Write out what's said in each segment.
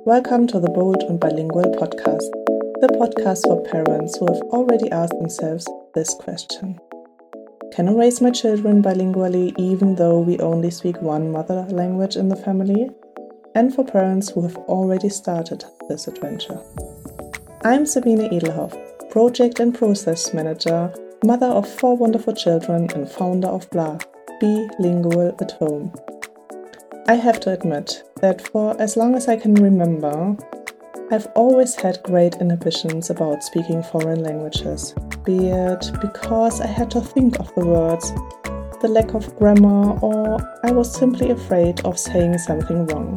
Welcome to the Bold and Bilingual podcast, the podcast for parents who have already asked themselves this question. Can I raise my children bilingually even though we only speak one mother language in the family? And for parents who have already started this adventure. I'm Sabine Edelhoff, Project and Process Manager, mother of 4 wonderful children and founder of BLA, Be Lingual at Home. I have to admit that for as long as I can remember, I've always had great inhibitions about speaking foreign languages, be it because I had to think of the words, the lack of grammar, or I was simply afraid of saying something wrong.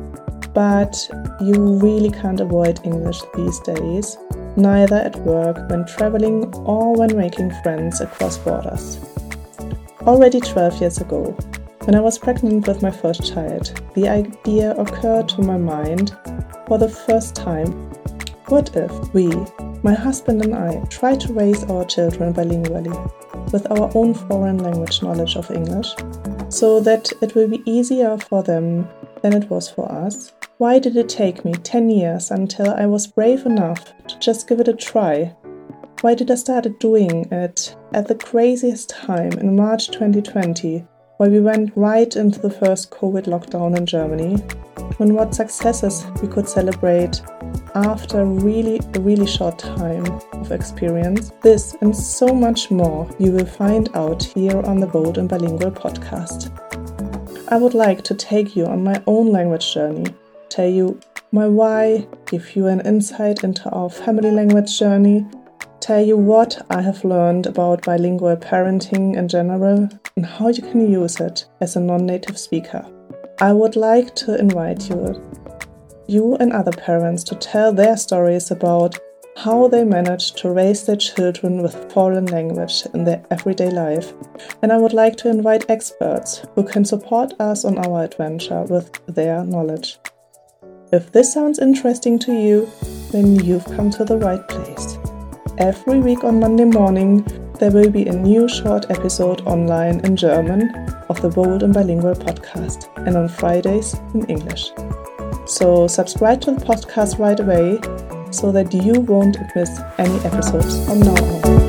But you really can't avoid English these days, neither at work, when traveling, or when making friends across borders. Already 12 years ago, when I was pregnant with my first child, the idea occurred to my mind for the first time. What if we, my husband and I, try to raise our children bilingually with our own foreign language knowledge of English, so that it will be easier for them than it was for us? Why did it take me 10 years until I was brave enough to just give it a try? Why did I start doing it at the craziest time in March 2020, where we went right into the first COVID lockdown in Germany, when what successes we could celebrate after a really short time of experience? This and so much more you will find out here on the Bold and Bilingual podcast. I would like to take you on my own language journey, tell you my why, give you an insight into our family language journey, tell you what I have learned about bilingual parenting in general and how you can use it as a non-native speaker. I would like to invite you and other parents to tell their stories about how they managed to raise their children with foreign language in their everyday life. And I would like to invite experts who can support us on our adventure with their knowledge. If this sounds interesting to you, then you've come to the right place. Every week on Monday morning, there will be a new short episode online in German of the Bold and Bilingual podcast, and on Fridays in English. So subscribe to the podcast right away so that you won't miss any episodes from now on.